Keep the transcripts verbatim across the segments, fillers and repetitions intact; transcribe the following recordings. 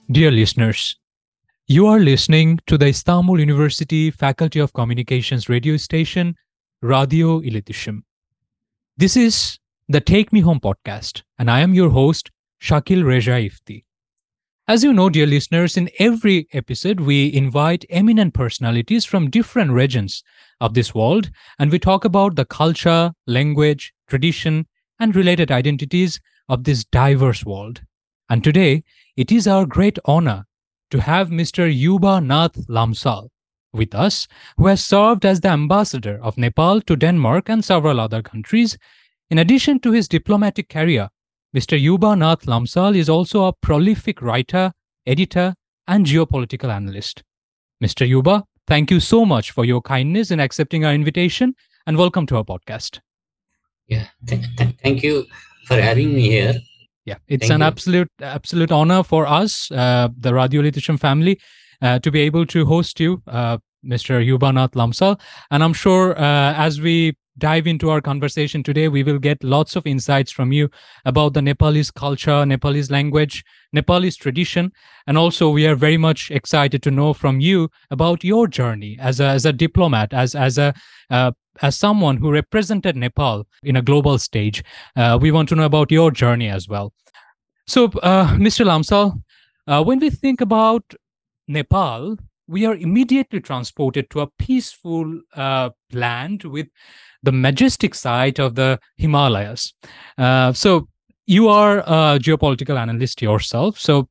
Dear listeners, you are listening to the Istanbul University Faculty of Communications radio station, Radio Iletişim. This is the Take Me Home podcast, and I am your host, Shakil Reza Ifti. As you know, dear listeners, in every episode, we invite eminent personalities from different regions of this world, and we talk about the culture, language, tradition, and related identities of this diverse world. And today, it is our great honor to have Mister Yuba Nath Lamsal with us, who has served as the ambassador of Nepal to Denmark and several other countries. In addition to his diplomatic career, Mister Yuba Nath Lamsal is also a prolific writer, editor, and geopolitical analyst. Mister Yuba, thank you so much for your kindness in accepting our invitation, and welcome to our podcast. Yeah, th- th- thank you for having me here. Yeah, it's Thank an you. absolute absolute honor for us, uh, the Radio Iletişim family, uh, to be able to host you, uh, Mister Yuba Nath Lamsal. And I'm sure uh, as we dive into our conversation today, we will get lots of insights from you about the Nepalese culture, Nepalese language, Nepalese tradition. And also, we are very much excited to know from you about your journey as a, as a diplomat, as, as a uh, as someone who represented Nepal in a global stage. Uh, we want to know about your journey as well. So, uh, Mister Lamsal, uh, when we think about Nepal, we are immediately transported to a peaceful uh, land with the majestic sight of the Himalayas. Uh, so, you are a geopolitical analyst yourself. So,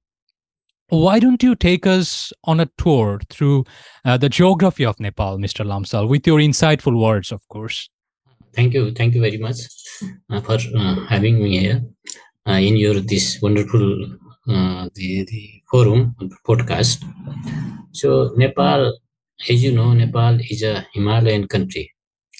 why don't you take us on a tour through uh, the geography of Nepal, Mister Lamsal, with your insightful words, of course? Thank you. Thank you very much uh, for uh, having me here uh, in your this wonderful uh, the the forum podcast. So Nepal, as you know, Nepal is a Himalayan country.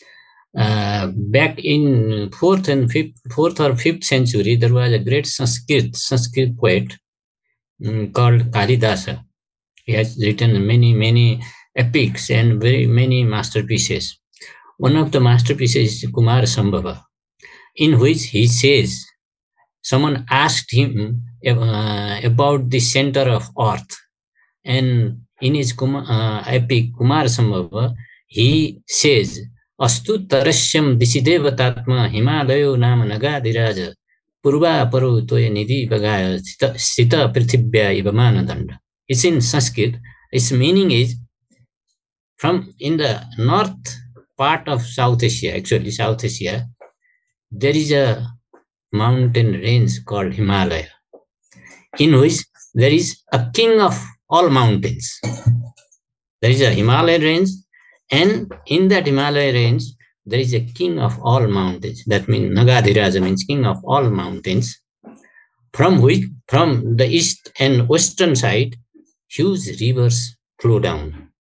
Uh, back in fourth and fifth, fourth or fifth century, there was a great Sanskrit Sanskrit poet um, called Kalidasa. He has written many many epics and very many masterpieces. One of the masterpieces is Kumar Sambhava, in which he says someone asked him uh, about the center of earth, and in his Kumar, uh, epic Kumar Sambhava, he says, Astu tarasyam disidevatatma himalayo nama nagadiraja purva paru toya nidhi bagaya sita prithibhya ivamana danda. It's in Sanskrit. Its meaning is from in the north part of South Asia, actually South Asia, there is a mountain range called Himalaya, in which there is a king of all mountains. There is a Himalaya range, and in that Himalaya range, there is a king of all mountains. That means Nagadhiraja means king of all mountains, from which, from the east and western side, huge rivers flow down.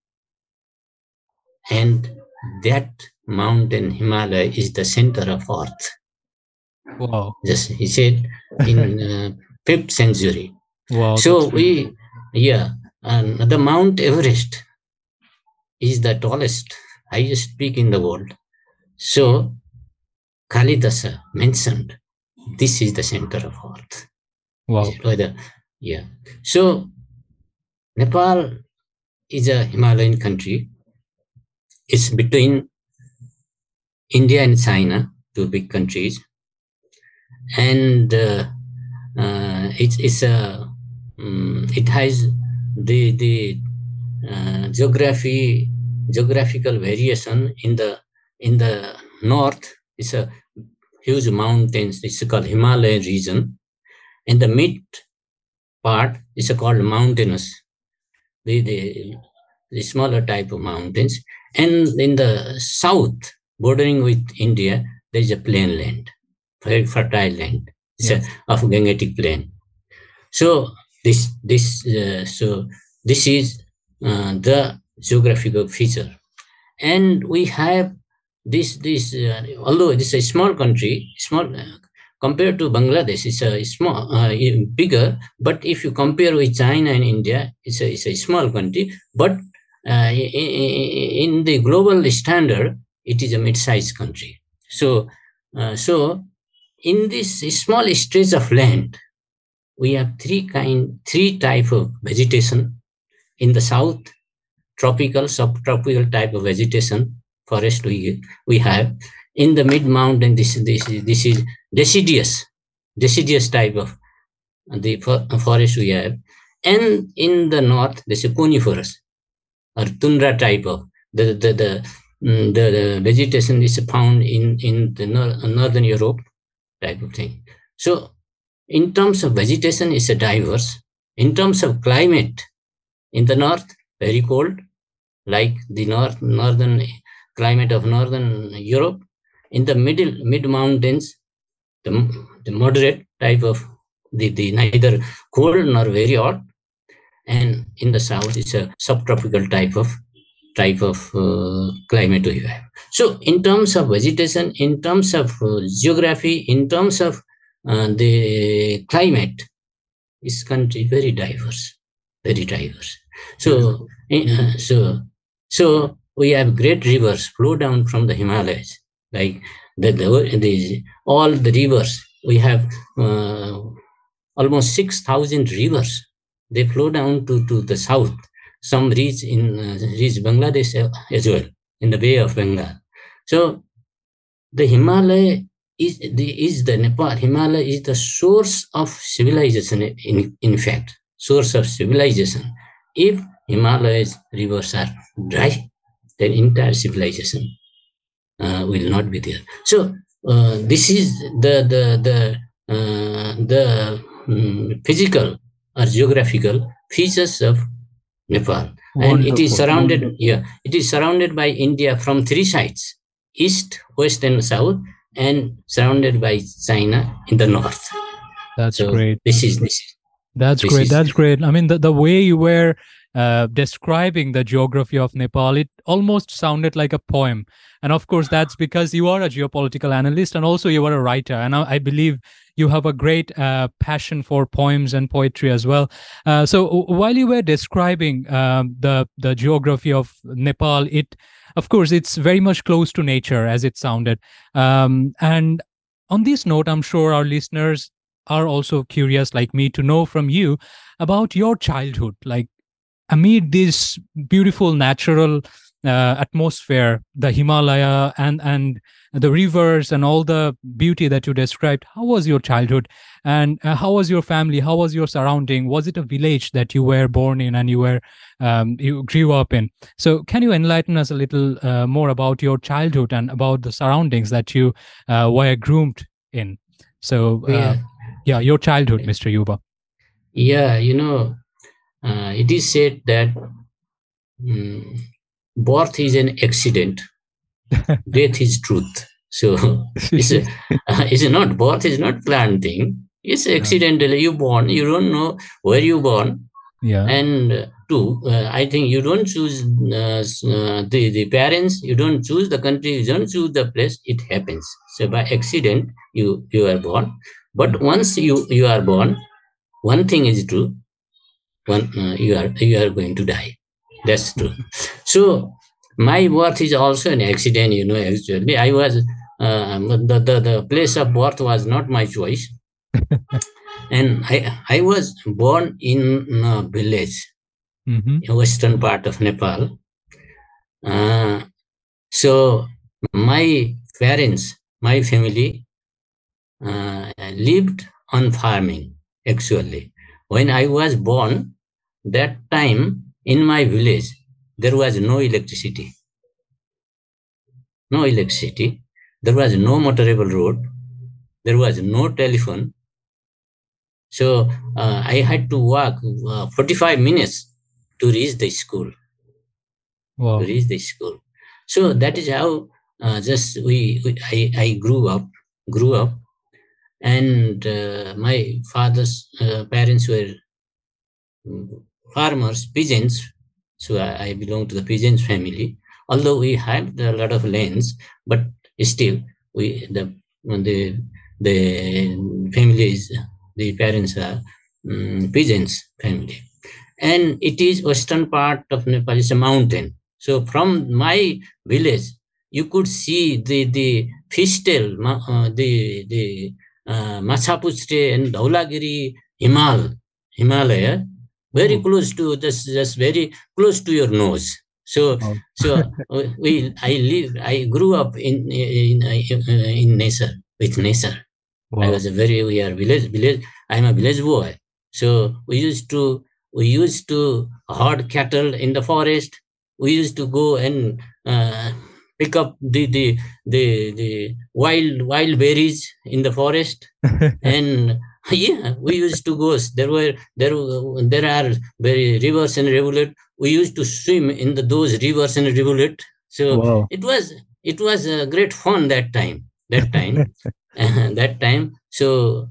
And that mountain Himalaya is the center of earth. Wow. Just he said in uh, fifth century. Wow. So we, yeah, and the Mount Everest is the tallest, highest peak in the world. So Kalidasa mentioned this is the center of earth. Wow. Whether, yeah. So Nepal is a Himalayan country. It's between India and China, two big countries, and uh, uh, it's it's a um, it has the the uh, geography geographical variation in the in the north. It's a huge mountains. It's called Himalayan region. In the mid part is called mountainous. The, the the smaller type of mountains, and in the south bordering with India, there is a plain land, very fertile land. It's yes. a, of Gangetic plain. So this this uh, so this is uh, the geographical feature, and we have this this uh, although this is a small country, small uh, compared to Bangladesh, it's a small uh, bigger. But if you compare with China and India, it's a it's a small country. But uh, in, in the global standard, it is a mid-sized country. So uh, so in this small stretch of land, we have three kind, three type of vegetation. In the south, tropical, subtropical type of vegetation, forest we, we have. In the mid-mountain, this, this, this is deciduous, deciduous type of the forest we have. And in the north, this is coniferous or tundra type of the the the, the, the vegetation is found in in the nor- northern Europe type of thing. So in terms of vegetation, it's a diverse. In terms of climate, in the north, very cold, like the north northern climate of northern Europe. In the middle mid mountains, the, the moderate type of the, the neither cold nor very hot, and in the south it's a subtropical type of type of uh, climate we have. So in terms of vegetation, in terms of uh, geography, in terms of uh, the climate, this country very diverse, very diverse. So uh, so so we have great rivers flow down from the Himalayas, like the, the, the all the rivers we have. Uh, almost six thousand rivers. They flow down to, to the south. Some reach in uh, reach Bangladesh as well, in the Bay of Bengal. So the Himalaya is the is the Nepal. Himalaya is the source of civilization. In in fact, source of civilization. If Himalayas rivers are dry, then entire civilization uh, will not be there. So uh, this is the the the uh, the um, physical or geographical features of Nepal. And it is Wonderful. surrounded, yeah, it is surrounded by India from three sides: east, west, and south, and surrounded by China in the north. That's So great. This is this. Is, That's this great. is- That's great. I mean, the, the way you were uh, describing the geography of Nepal, it almost sounded like a poem. And of course, that's because you are a geopolitical analyst and also you are a writer. And I, I believe you have a great uh, passion for poems and poetry as well. Uh, so w- while you were describing um, the the geography of Nepal, it of course it's very much close to nature, as it sounded. Um, and on this note, I'm sure our listeners are also curious, like me, to know from you about your childhood, like amid this beautiful natural uh, atmosphere, the Himalaya and and the rivers and all the beauty that you described. How was your childhood, and uh, how was your family? How was your surrounding? Was it a village that you were born in and you were um, you grew up in? So, can you enlighten us a little uh, more about your childhood and about the surroundings that you uh, were groomed in? So, uh, yeah, yeah, your childhood, Mister Yuba. yeah, you know, uh, it is said that um, birth is an accident, death is truth. So it's a, uh, it's not birth is not planned thing. It's accidental. You born, you don't know where you born, Yeah. and uh, two, uh, I think you don't choose uh, s- uh, the the parents. You don't choose the country. You don't choose the place. It happens. So by accident, you you are born. But once you you are born, one thing is true. One uh, you are you are going to die. That's true. So my birth is also an accident. You know, actually, I was uh, the, the the place of birth was not my choice, and I I was born in a village, Mhm. in western part of Nepal. Uh, so my parents, my family uh, lived on farming. Actually, when I was born, that time in my village there was no electricity. No electricity. There was no motorable road. There was no telephone. So uh, I had to walk uh, forty-five minutes to reach the school. Wow. To reach the school. So that is how uh, just we, we I, I grew up, grew up, and uh, my father's uh, parents were mm, farmers, peasants. So I, I belong to the peasants family. Although we have a lot of lands, but still we the the the families, the parents are um, peasants family, and it is western part of Nepal. It's a mountain. So from my village, you could see the the Fistel, uh, the the uh, Machapuchre and Dhaulagiri Himal, Himalaya, very Oh, close to just just very close to your nose. So wow. so uh, we I live I grew up in in in, in nature with nature. I Wow. was a very we are village village. I'm a village boy. So we used to we used to herd cattle in the forest. We used to go and uh, pick up the the the the wild wild berries in the forest. And yeah, we used to go. There were there were- there are very rivers and rivulet. We used to swim in the those rivers and rivulet. So Wow. it was it was a great fun that time. That time that time. So,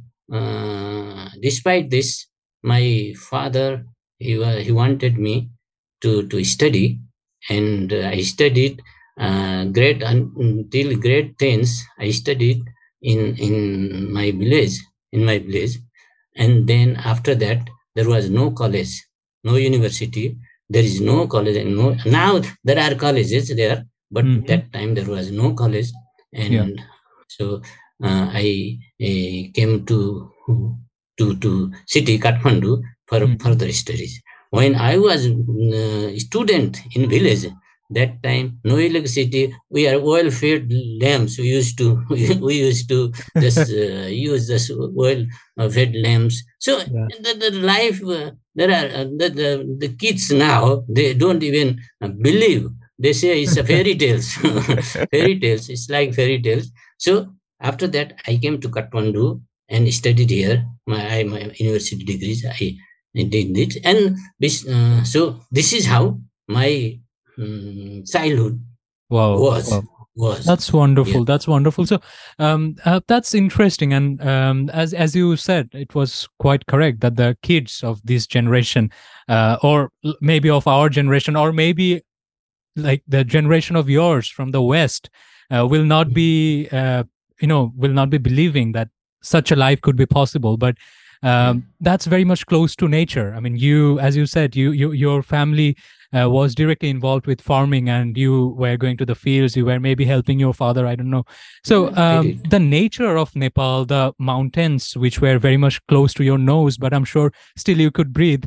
uh, despite this, my father he wa- he wanted me to to study, and uh, I studied uh, grade un- until grade tens. I studied in in my village in my village, and then after that there was no college, no university. There is no college, and no now there are colleges there, but Hmm. that time there was no college, Yeah. and so uh, I uh, came to to to city Kathmandu for Hmm. further studies. When I was uh, student in village, that time no electricity. We are oil-fed lamps. We used to we used to just uh, use this oil-fed lamps. So Yeah. the, the life uh, there are uh, the, the the kids now they don't even uh, believe. They say it's a fairy tales, fairy tales. It's like fairy tales. So after that, I came to Kathmandu and studied here. My I, my university degrees I, I did it, and this, uh, so this is how my um, childhood Wow. was Wow. was. That's Yeah. wonderful. That's wonderful. So, um, uh, that's interesting. And um, as as you said, it was quite correct that the kids of this generation, uh, or l- maybe of our generation, or maybe like the generation of yours from the West, uh, will not be, uh, you know, will not be believing that such a life could be possible. But Yeah. um, that's very much close to nature. I mean, you, as you said, you, you your family uh, was directly involved with farming, and you were going to the fields. You were maybe helping your father. I don't know. So Yeah, I um, did. the nature of Nepal, the mountains, which were very much close to your nose, but I'm sure still you could breathe.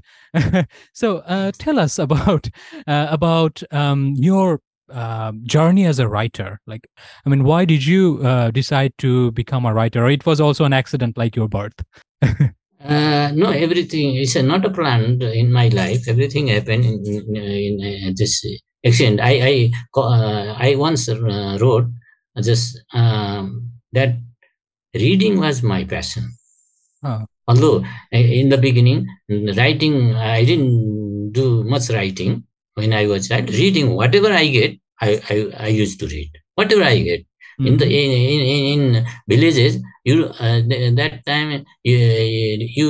So uh, tell us about uh, about um, your uh, journey as a writer. Like, I mean, why did you uh, decide to become a writer? Or it was also an accident like your birth? Uh, no, everything is uh, not a plan in my life. Everything happened in, in, in uh, this accident. I I co- uh, I once uh, wrote just um, that reading was my passion. Oh. Although uh, in the beginning, writing I didn't do much writing when I was child. Reading whatever I get, I, I, I used to read whatever I get. In the Mm-hmm. in in, in in villages, you uh, th- that time you, you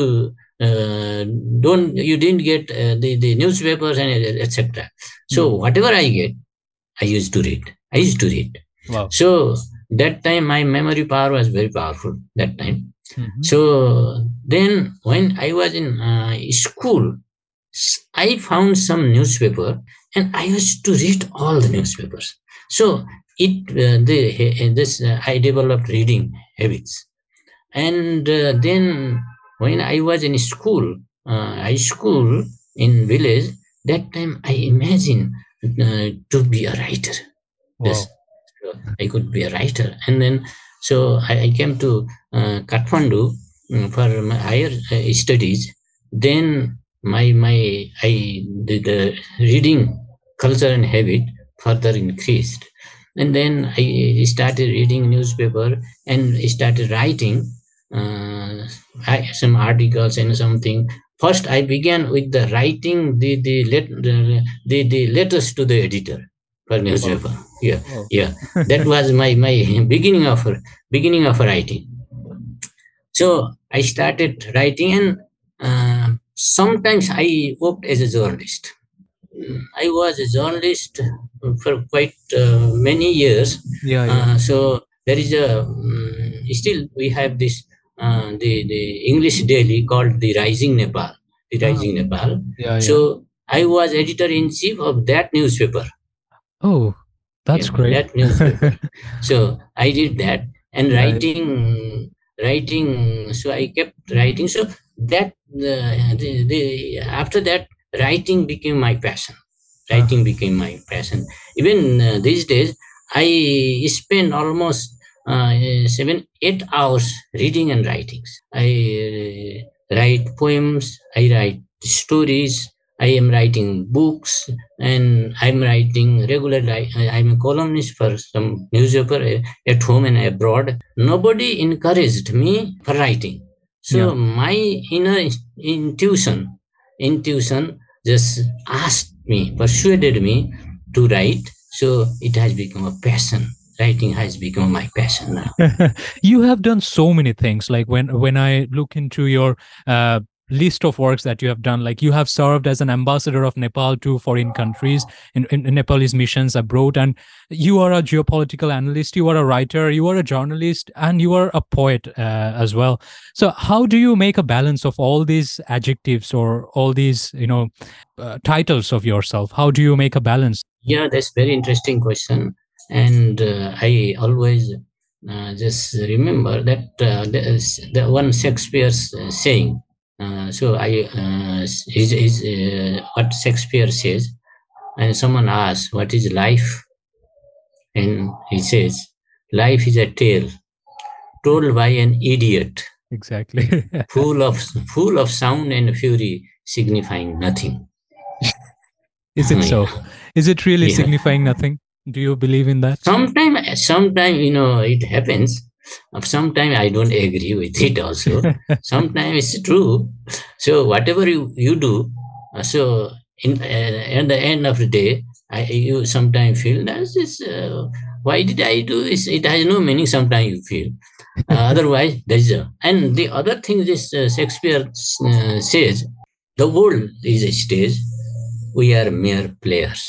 uh, don't you didn't get uh, the the newspapers and et cetera. So Mm. whatever I get, I used to read. I used to read. Wow. So that time my memory power was very powerful. That time, Mm-hmm. so then, when I was in uh, school, s- I found some newspaper and I used to read all the newspapers. So it uh, the, this uh, I developed reading habits, and uh, then when I was in school, uh, high school in village, that time I imagined uh, to be a writer. Yes, Wow. so I could be a writer. And then, so I, I came to uh, Kathmandu mm, for my higher uh, studies. Then my my I the, the reading culture and habit further increased, and then I started reading newspaper and started writing uh, I, some articles and something. First, I began with the writing the the, let, the, the, the letters to the editor for Wow. newspaper. Yeah, Wow. yeah, that was my my beginning of beginning of writing. So I started writing, and uh, sometimes I worked as a journalist. Mm, I was a journalist for quite uh, many years. Yeah. Yeah. Uh, so there is a um, still we have this uh, the the English daily called the Rising Nepal, the Ah, Rising Nepal. yeah. So Yeah. I was editor in chief of that newspaper. Oh, Yeah, that's great. that newspaper. So I did that, and Yeah. writing writing. So I kept writing. So that uh, the, the after that, writing became my passion. Uh, Writing became my passion. Even uh, these days, I spend almost uh, seven, eight hours reading and writing. I uh, write poems. I write stories. I am writing books, and I'm writing regularly. I, I'm a columnist for some newspaper uh, at home and abroad. Nobody encouraged me for writing. yeah. So my inner intuition, intuition just asked me, persuaded me to write. So it has become a passion. Writing has become my passion now. You have done so many things. Like when when I look into your uh, list of works that you have done, like you have served as an ambassador of Nepal to foreign countries in, in, in Nepalese missions abroad, and you are a geopolitical analyst, you are a writer, you are a journalist, and you are a poet uh, as well. So how do you make a balance of all these adjectives or all these, you know, uh, titles of yourself? How do you make a balance? Yeah, that's very interesting question. And uh, I always uh, just remember that uh, the, the one Shakespeare's uh, saying. Uh, so I uh, is is uh, what Shakespeare says, and someone asks, "What is life?" And he says, "Life is a tale told by an idiot, Exactly. full of full of sound and fury, signifying nothing." Is it so? Yeah, Is it really yeah. signifying nothing? Do you believe in that? Sometimes, sometimes you know it happens. Sometimes I don't agree with it. Also, sometimes it's true. So whatever you you do, uh, so in uh, at the end of the day, I you sometimes feel that is uh, why did I do this? It has no meaning. Sometimes you feel. Uh, otherwise, there's a, and the other thing this uh, Shakespeare uh, says, the world is a stage. We are mere players,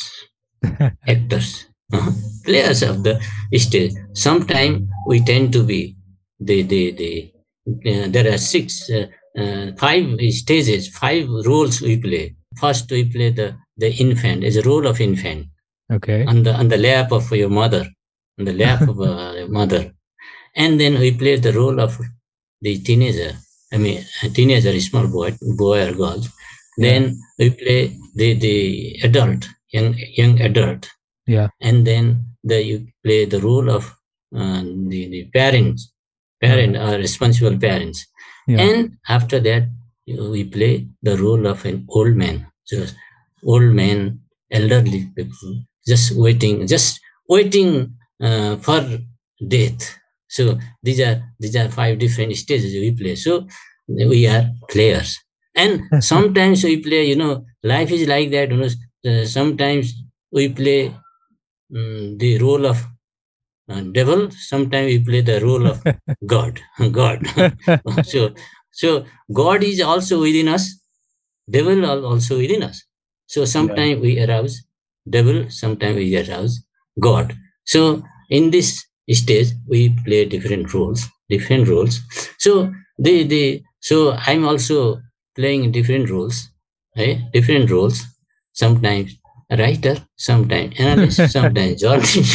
actors, uh, players of the stage. Sometimes we tend to be the the the. Uh, there are six, uh, uh, five stages, five roles we play. First, we play the the infant, is a role of infant Okay. on the on the lap of your mother, on the lap of uh, your mother, and then we play the role of the teenager. I mean, a teenager, small boy, boy or girl. Yeah. Then we play the the adult, young young adult, Yeah. and then the you play the role of uh, the, the parents parent Uh-huh. or responsible parents, Yeah. and after that we play the role of an old man, so old man, elderly people, just waiting just waiting uh, for death. So these are these are five different stages we play. So we are players, and sometimes we play, you know life is like that, you know uh, sometimes we play mm, the role of uh, devil. Sometimes we play the role of god. God. so so God is also within us, devil are also within us. So Yeah. sometimes we arouse devil, sometimes we arouse God. So in this stage we play different roles, different roles. So the the so I'm also playing different roles, right? Different roles. Sometimes a writer, sometimes analyst, sometimes journalist,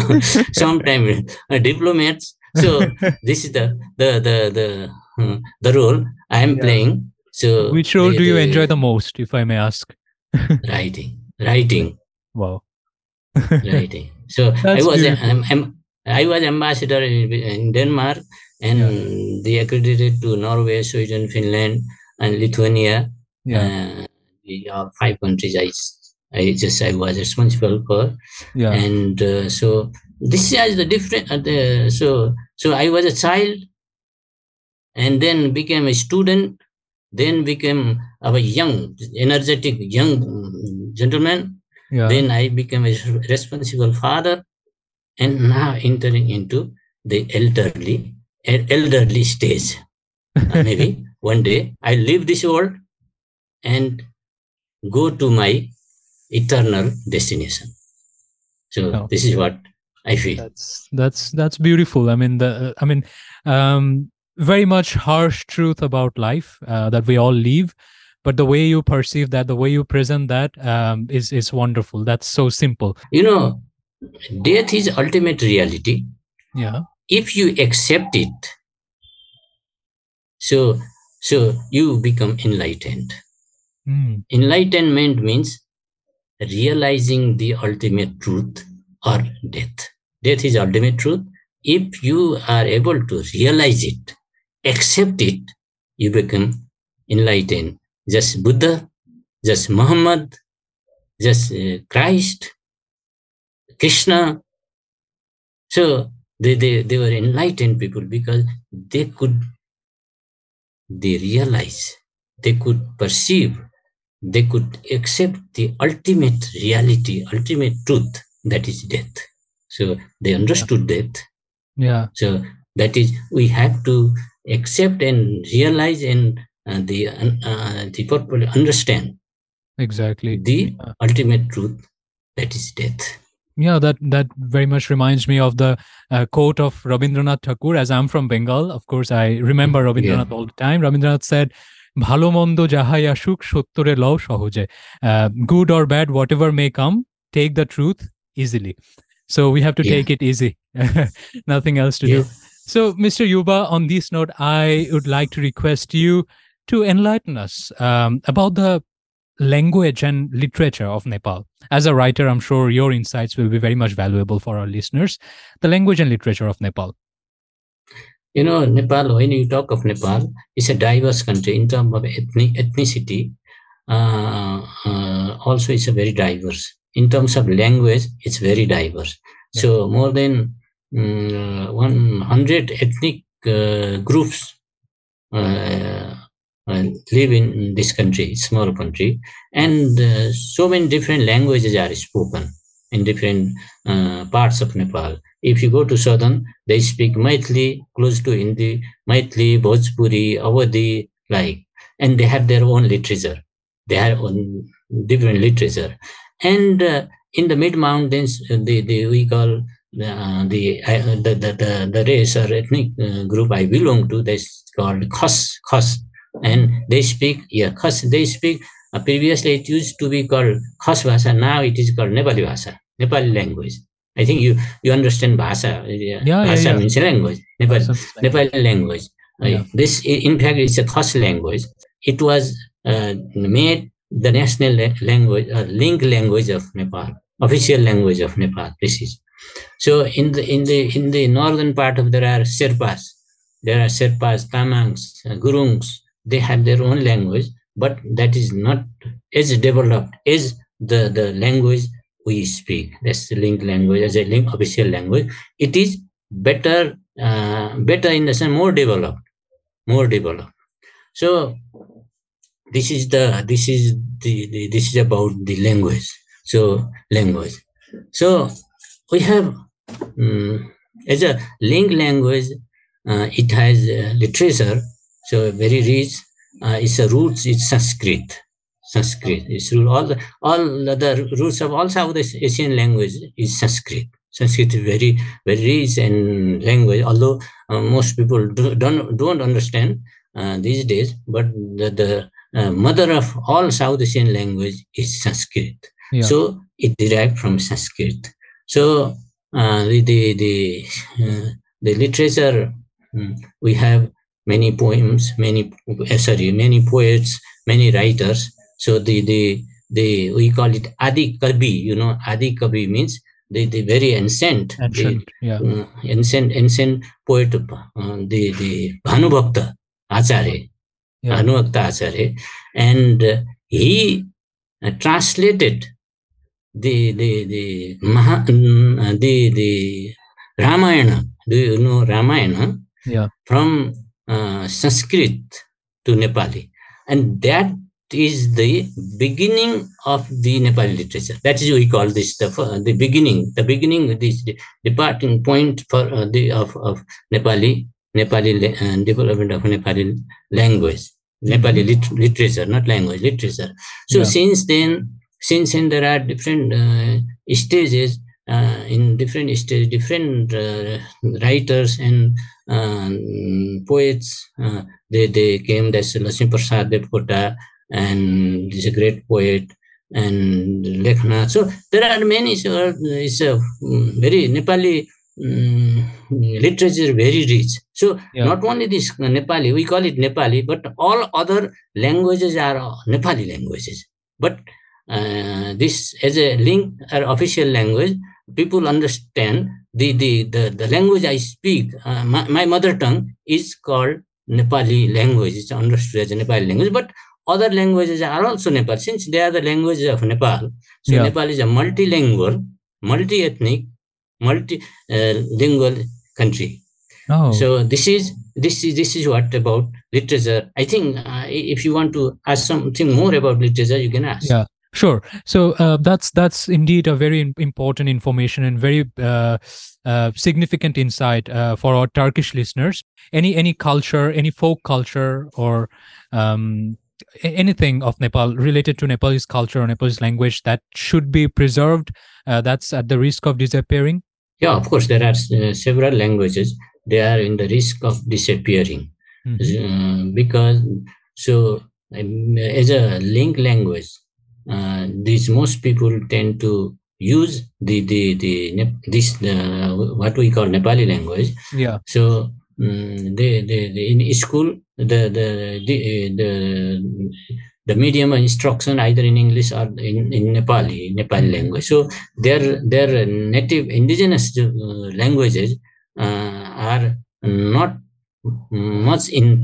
sometimes a diplomat. So this is the the the the uh, the role I am Yeah. playing. So Which role the do you enjoy the the most, if I may ask? writing, writing, Wow. writing. So I That's was a, beautiful. I'm, I'm, I was ambassador in, in Denmark, Yeah. and they accredited to Norway, Sweden, Finland, and Lithuania. Yeah. Uh, the uh, five countries I, I just I was responsible for, Yeah. and uh, so this is the different. Uh, the, so so I was a child, and then became a student, then became a young, energetic young gentleman. Yeah. Then I became a responsible father, and now entering into the elderly, elderly stage. Uh, maybe one day I leave this world and go to my eternal destination. So No. this is what I feel. That's that's that's beautiful. I mean, the I mean, um, very much harsh truth about life uh, that we all live, but the way you perceive that, the way you present that, um, is is wonderful. That's so simple. You know, death is ultimate reality. Yeah. If you accept it, So, so you become enlightened. Mm. Enlightenment means realizing the ultimate truth or death. Death is ultimate truth. If you are able to realize it, accept it, you become enlightened. Just Buddha, just Muhammad, just uh, Christ, Krishna. So they, they, they were enlightened people because they could, they realize, they could perceive, they could accept the ultimate reality, ultimate truth, that is death. So they understood yeah. death. Yeah. So that is, we have to accept and realize and uh, the uh, the purpose understand exactly the yeah. ultimate truth, that is death. Yeah, that that very much reminds me of the uh, quote of Rabindranath Tagore. As I'm from Bengal, of course, I remember Rabindranath yeah. all the time. Rabindranath said, "Bhalo mondo jahai ashuk sottore lao shohoje." Good or bad, whatever may come, take the truth easily. So we have to yeah. take it easy. Nothing else to yeah. do. So, Mister Yuba, on this note, I would like to request you to enlighten us um, about the language and literature of Nepal. As a writer, I'm sure your insights will be very much valuable for our listeners. The language and literature of Nepal. You know, Nepal, when you talk of Nepal, it's a diverse country in terms of ethnic, ethnicity. Uh, uh, also, it's a very diverse. In terms of language, it's very diverse. Yeah. So more than um, one hundred ethnic uh, groups uh, uh, live in this country, small country, and uh, so many different languages are spoken in different uh, parts of Nepal. If you go to southern, they speak Maithili, close to Hindi, Maithili, Bhojpuri, Awadhi, like, and they have their own literature. They have own different literature. And uh, in the mid mountains, the, the we call uh, the, uh, the, the the the race or ethnic uh, group I belong to. That's called Khas Khas, and they speak yeah Khas. They speak. Uh, previously, it used to be called Khas Bhasha. Now it is called Nepali Bhasha, Nepali language. I think you you understand Bhasha. Yeah, Bhasha yeah, yeah. means language. Nepal, Nepali language. Yeah. Uh, this, in fact, is a Khas language. It was uh, made the national language, uh, link language of Nepal, official language of Nepal. This is so. In the in the in the northern part of there are Sherpas, there are Sherpas, Tamangs, uh, Gurungs. They have their own language, but that is not as developed as the the language we speak. That's the link language as a link official language. It is better, uh, better in the sense more developed, more developed. So this is the this is the, the this is about the language. So language. So we have um, as a link language, uh, it has uh, literature. So very rich. Uh, it's a roots. It's Sanskrit. Sanskrit. It's all the all the roots of all South Asian language is Sanskrit. Sanskrit is very very rich in language. Although uh, most people do, don't don't understand uh, these days, but the, the uh, mother of all South Asian language is Sanskrit. Yeah. So it derived from Sanskrit. So uh, the the the, uh, the literature, um, we have many poems, many uh, sorry, many poets, many writers. So the the the we call it Adi Kavi. You know, Adi Kavi means the, the very ancient, ancient, the, yeah, uh, ancient ancient poet, uh, the the Bhanubhakta Acharya, yeah. Bhanubhakta Acharya, and uh, he uh, translated the the the Maha, uh, the the Ramayana. Do you know Ramayana? Yeah. From uh, Sanskrit to Nepali, and that is the beginning of the Nepali literature. That is we call this the uh, the beginning, the beginning, this the departing point for uh, the of, of Nepali Nepali uh, development of Nepali language, Nepali lit- literature, not language, literature. So yeah. since then, since then there are different uh, stages. Uh, in different stages, different uh, writers and um, poets, uh, they they came. There's Lakshmi Prasad Devkota, and he's a great poet, and Lekhnath. So there are many. So it's a very Nepali um, literature very rich. So Yeah. not only this Nepali, we call it Nepali, but all other languages are Nepali languages. But uh, this as a link or official language, people understand the the the, the language I speak. Uh, my, my mother tongue is called Nepali language. It's understood as a Nepali language, but other languages are also Nepal, since they are the languages of Nepal. So Yeah. Nepal is a multilingual, multi-ethnic, multilingual country. Oh. So this is this is this is what about literature. I think uh, if you want to ask something more about literature, you can ask. Yeah. Sure. So uh, that's that's indeed a very important information and very uh, uh, significant insight uh, for our Turkish listeners. Any any culture, any folk culture, or um, anything of Nepal related to Nepalese culture or Nepalese language that should be preserved, uh, that's at the risk of disappearing? Yeah, of course, there are uh, several languages. They are in the risk of disappearing. Mm-hmm. uh, because so um, as a link language, uh, these most people tend to use the the the this uh, what we call Nepali language. Yeah. So um, they, they, they in school the the the, the the medium instruction either in English or in, in Nepali, Nepali language. So their their native indigenous uh, languages uh, are not much in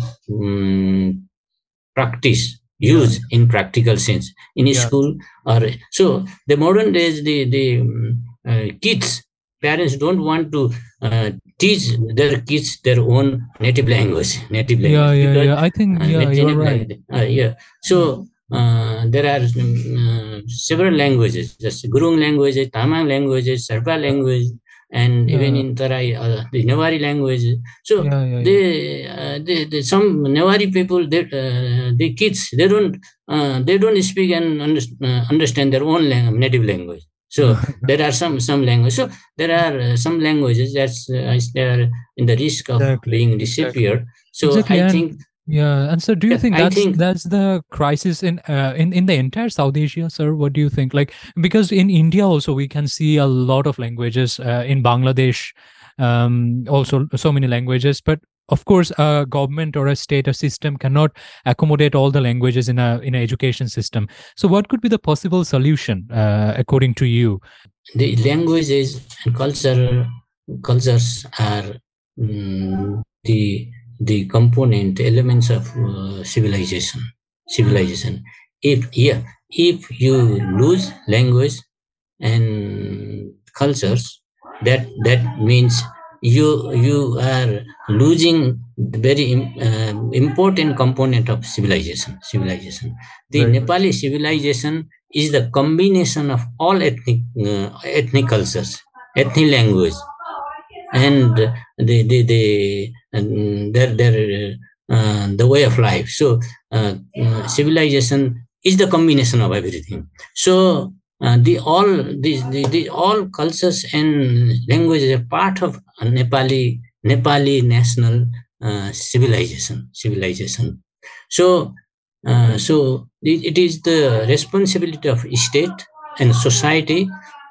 um, practice, use yeah. in practical sense in yeah. school. Or so the modern days the the um, uh, kids parents don't want to uh, teach their kids their own native language native language yeah yeah, because, yeah. I think uh, yeah you're right uh, yeah so uh, there are um, uh, several languages, just Gurung languages, Tamang languages, Sherpa language, and yeah. even in Tarai, uh, the Newari language. So yeah, yeah, they, yeah. Uh, they, they, some Newari people, they, uh, the kids, they don't, uh, they don't speak and under, uh, understand their own lang- native language. So there are some some languages. So there are uh, some languages that's uh, they are in the risk of exactly. being disappeared. Exactly. So exactly. I and, think. Yeah, and so do you yeah, think I that's think, that's the crisis in uh, in in the entire South Asia, sir? What do you think? Like, because in India also we can see a lot of languages. Uh, in Bangladesh, um, also so many languages. But of course, a government or a state, a system cannot accommodate all the languages in a in an education system. So, what could be the possible solution, uh, according to you? The languages and culture cultures are um, the the component elements of uh, civilization civilization if yeah if you lose language and cultures, that that means you you are losing the very uh, important component of civilization civilization the very Nepali much. Civilization is the combination of all ethnic uh, ethnic cultures, ethnic language, and the the the and their their uh, the way of life. So uh, uh, civilization is the combination of everything. So uh, the all these the, the all cultures and languages are part of Nepali Nepali national uh, civilization civilization. So uh, so it, it is the responsibility of state and society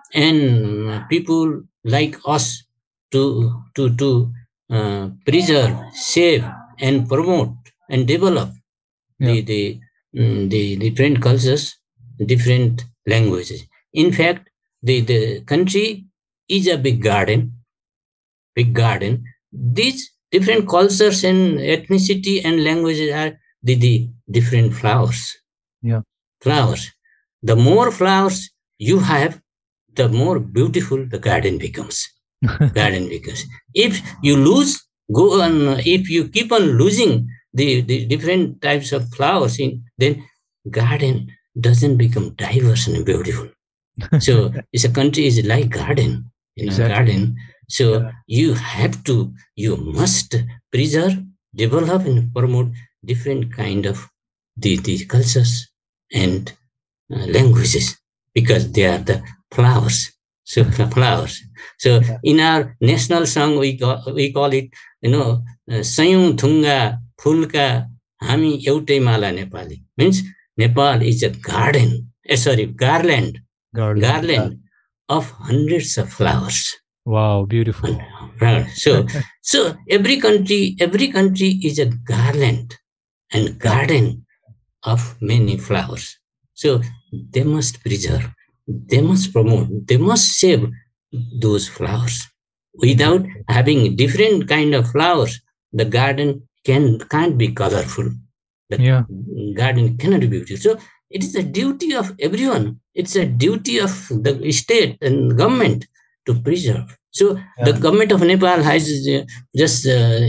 and people like us to to to uh, preserve, save, and promote and develop yeah. the the um, the different cultures, different languages. In fact, the the country is a big garden, big garden. These different cultures and ethnicity and languages are the, the different flowers. Yeah, flowers. The more flowers you have, the more beautiful the garden becomes. garden becomes. If you lose, go on. If you keep on losing the, the different types of flowers, in then garden doesn't become diverse and beautiful. So it's a country is like garden, you know, exactly. garden. So yeah. you have to, you must preserve, develop, and promote different kind of the, the cultures and uh, languages because they are the flowers. So flowers. So yeah. in our national song, we call, we call it, you know, Sayung Thunga Fulka Hami Eutai Mala Nepali. Means Nepal is a garden, eh, sorry, garland, garland, garland yeah. of hundreds of flowers. Wow, beautiful. Right. So, so every country, every country is a garland and garden of many flowers. So they must preserve, they must promote, they must save those flowers. Without Exactly. having different kind of flowers, the garden can can't be colorful. The Yeah. garden cannot be beautiful. So it is a duty of everyone. It's a duty of the state and government to preserve. So the Yeah. government of Nepal has uh, just uh,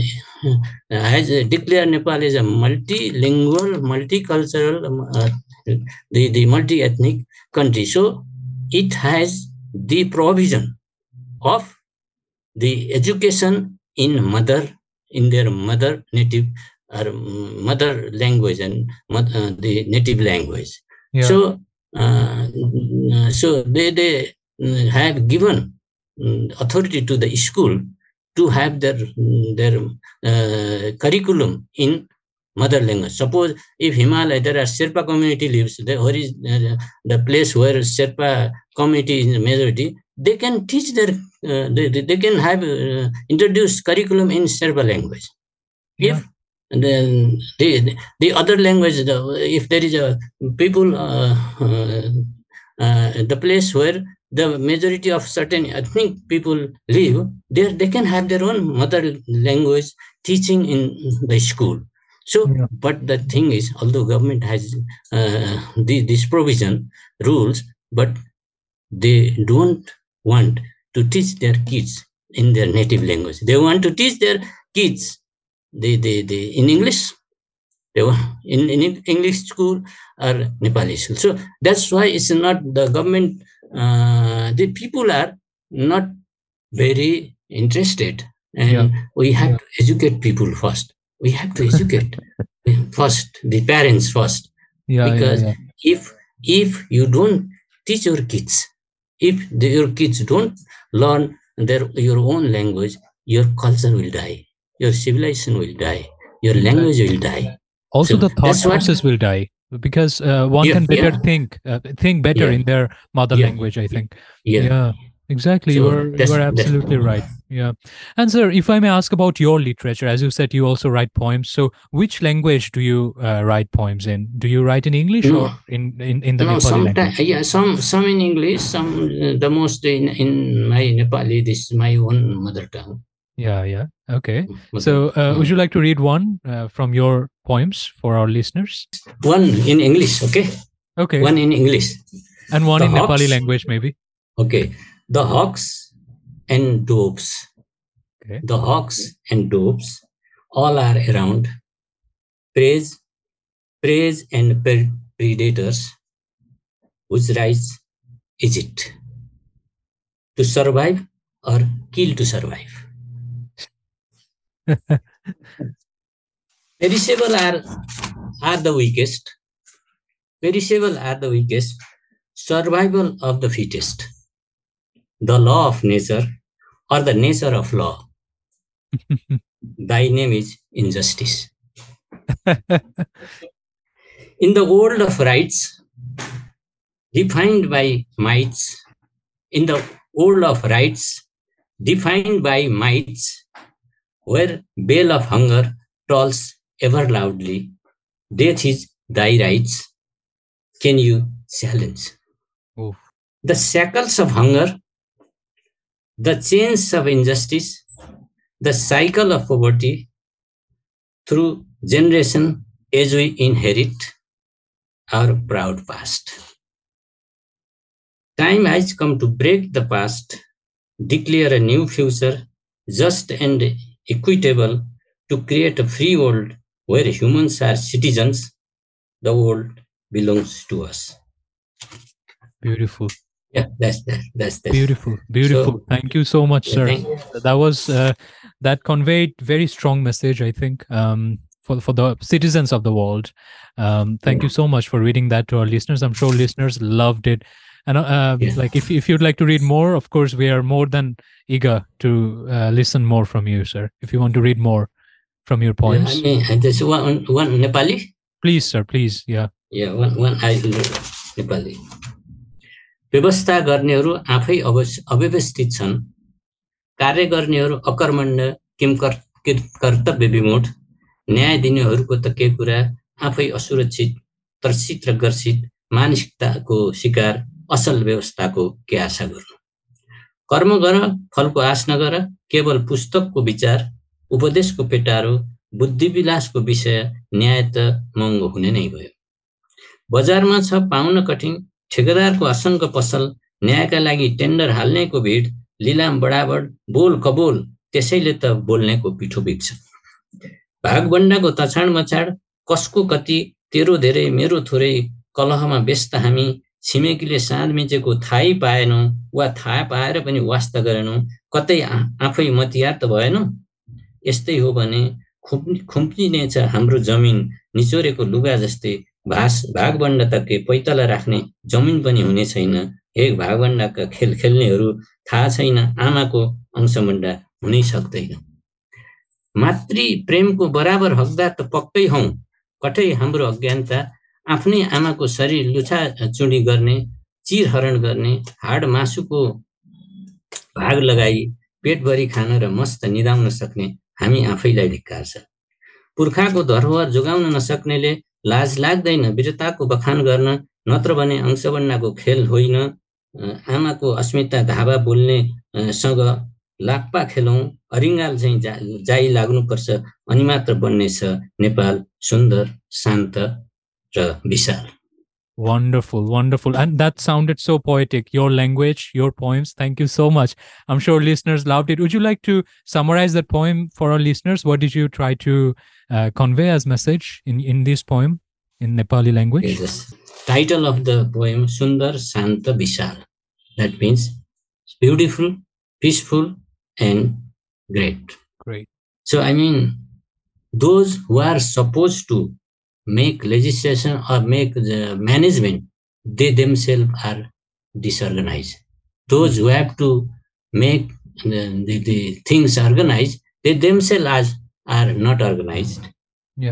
has uh, declared Nepal as a multilingual, multicultural, um, uh, the, the multi-ethnic country. So it has the provision of the education in mother, in their mother native or mother language and uh, the native language. Yeah. So, uh, so they, they have given authority to the school to have their their uh, curriculum in mother language. Suppose if Himalaya there are Sherpa community lives, the, where is uh, the place where Sherpa community is the majority, they can teach their uh, they, they can have uh, introduced curriculum in Sherpa language. Yeah. If then the the other language, the, if there is a people uh, uh, uh, the place where the majority of certain ethnic people live, there they can have their own mother language teaching in the school. So, Yeah. but the thing is, although government has uh, the, this provision rules, but they don't want to teach their kids in their native language. They want to teach their kids they, they, they in English. They were in, in English school or Nepali school. So that's why it's not the government. Uh, the people are not very interested, and Yeah. we have to educate people first. We have to educate first the parents first, Yeah. Yeah. because Yeah. if if you don't teach your kids, if the, your kids don't learn their your own language, your culture will die, your civilization will die, your language Exactly. will die. Also, So the thought that's what. process will die because uh, one Yeah, can better yeah, think, uh, think better yeah, in their mother yeah, language, I think. yeah. Yeah, exactly. You So are you that's are that's. absolutely right. Yeah. And sir, if I may ask about your literature, as you said, you also write poems. So, which language do you uh, write poems in? Do you write in English No, or in in, in the no. Nepali Sometimes, language? yeah, some some in English, some uh, the most in in my Nepali. This is my own mother tongue. Yeah, yeah. Okay. Mother. So, uh, would Uh, you like to read one uh, from your poems for our listeners? one in English, okay. Okay. One in English. And one The in Nepali hawks. language, maybe. Okay. The hawks and doves. Okay. The hawks and doves all are around. Praise, praise and predators whose rights is it to survive or kill to survive? Perishable are, are the weakest. Perishable are the weakest. Survival of the fittest. The law of nature or the nature of law. Thy name is injustice. In the world of rights, defined by mights, in the world of rights, defined by mights, where bell of hunger tolls ever loudly, death is thy rights. Can you challenge? Oof. The shackles of hunger, the chains of injustice, the cycle of poverty through generation as we inherit our proud past. Time has come to break the past, declare a new future, just and equitable, to create a free world where humans are citizens. The world belongs to us. Beautiful. Yeah, that's that. That's that. Beautiful. Beautiful. So, Thank you so much, yeah, sir. thank, That was uh, that conveyed very strong message, I think, um, for for the citizens of the world. Um, thank you so much for reading that to our listeners. I'm sure listeners loved it. And uh, yeah. like, if if you'd like to read more, of course, we are more than eager to uh, listen more from you, sir. If you want to read more from your poems, I mean, just one one Nepali. please, sir. Please, yeah. Yeah, one one I Nepali. व्यवस्था गर्नेहरू आफै अव्यवस्थित छन्, कार्य गर्नेहरू अकर्मण्य किम कर्तव्य विमूढ, न्याय दिनेहरूको त के कुरा, आफै असुरक्षित तर्सित र गर्सित मानसिकताको शिकार, असल व्यवस्थाको के आशा गर्नु। कर्म गर, फलको आश नगर, केवल पुस्तकको विचार, उपदेशको पेटारो, बुद्धिविलासको विषय, न्याय त महँगो हुने नै भयो। बजारमा छ पाउन कठिन, ठेकेदारको असङ्ग पसल, न्यायका लागि टेन्डर हाल्नेको भिड, लिलाम बडाबड, बोल कबोल, त्यसैले त बोल्नेको पिठो बिग्छ। भागबण्डाको तछाड मछाड, कसको कति, तेरो धेरै मेरो थोरै, कलहमा व्यस्त हामी, छिमेकीले साँध मिचेको थाहै पाएनौँ, वा थाहा पाएर पनि वास्ता गरेनौँ, कतै आफै मतियार त भएनौँ। यस्तै हो भने खुम्पिनेछ हाम्रो जमिन, निचोरेको लुगा जस्तै, भास भागबण्डा त के पैतला राख्ने जमिन पनि हुने छैन। हे भागबण्डाका खेल खेल्नेहरू, थाहा छैन आमाको अंशबण्डा हुनै सक्दैन। मातृ प्रेमको बराबर हकदार त पक्कै हौँ, कठै हाम्रो अज्ञानता, आफ्नै आमाको शरीर लुछा चुडी गर्ने, चिरहरण गर्ने, हाड मासुको भाग लगाई पेटभरि खान र मस्त निदाउन सक्ने हामी आफैलाई धिक्कार छ। पुर्खाको धरोहर जोगाउन नसक्नेले लाज लाग्दैन वीरताको बखान गर्न, नत्र भने अंशबण्डाको खेल होइन, आमाको अस्मिता धावा बोल्ने सँग लाप्पा खेलौँ, अरिङ्गाल चाहिँ जा, जाइ लाग्नुपर्छ, अनि मात्र बन्नेछ नेपाल सुन्दर, शान्त र विशाल। Wonderful, wonderful. And that sounded so poetic. Your language, your poems. Thank you so much. I'm sure listeners loved it. Would you like to summarize that poem for our listeners? What did you try to uh, convey as message in, in this poem in Nepali language? Yes. Title of the poem, Sundar Shanta Vishal. That means beautiful, peaceful, and great. Great. So, I mean, those who are supposed to make legislation or make the management, they themselves are disorganized. Those who have to make the, the, the things organized, they themselves are, are not organized. Yeah.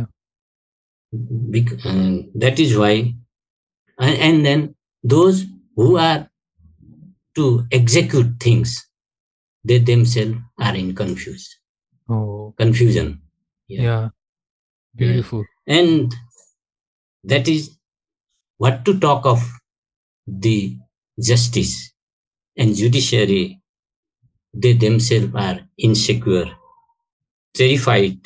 Bec- uh, that is why, and, and then those who are to execute things, they themselves are in confused. Oh. Confusion. Yeah. yeah. Beautiful. Yeah. And that is what to talk of the justice and judiciary. They themselves are insecure, terrified,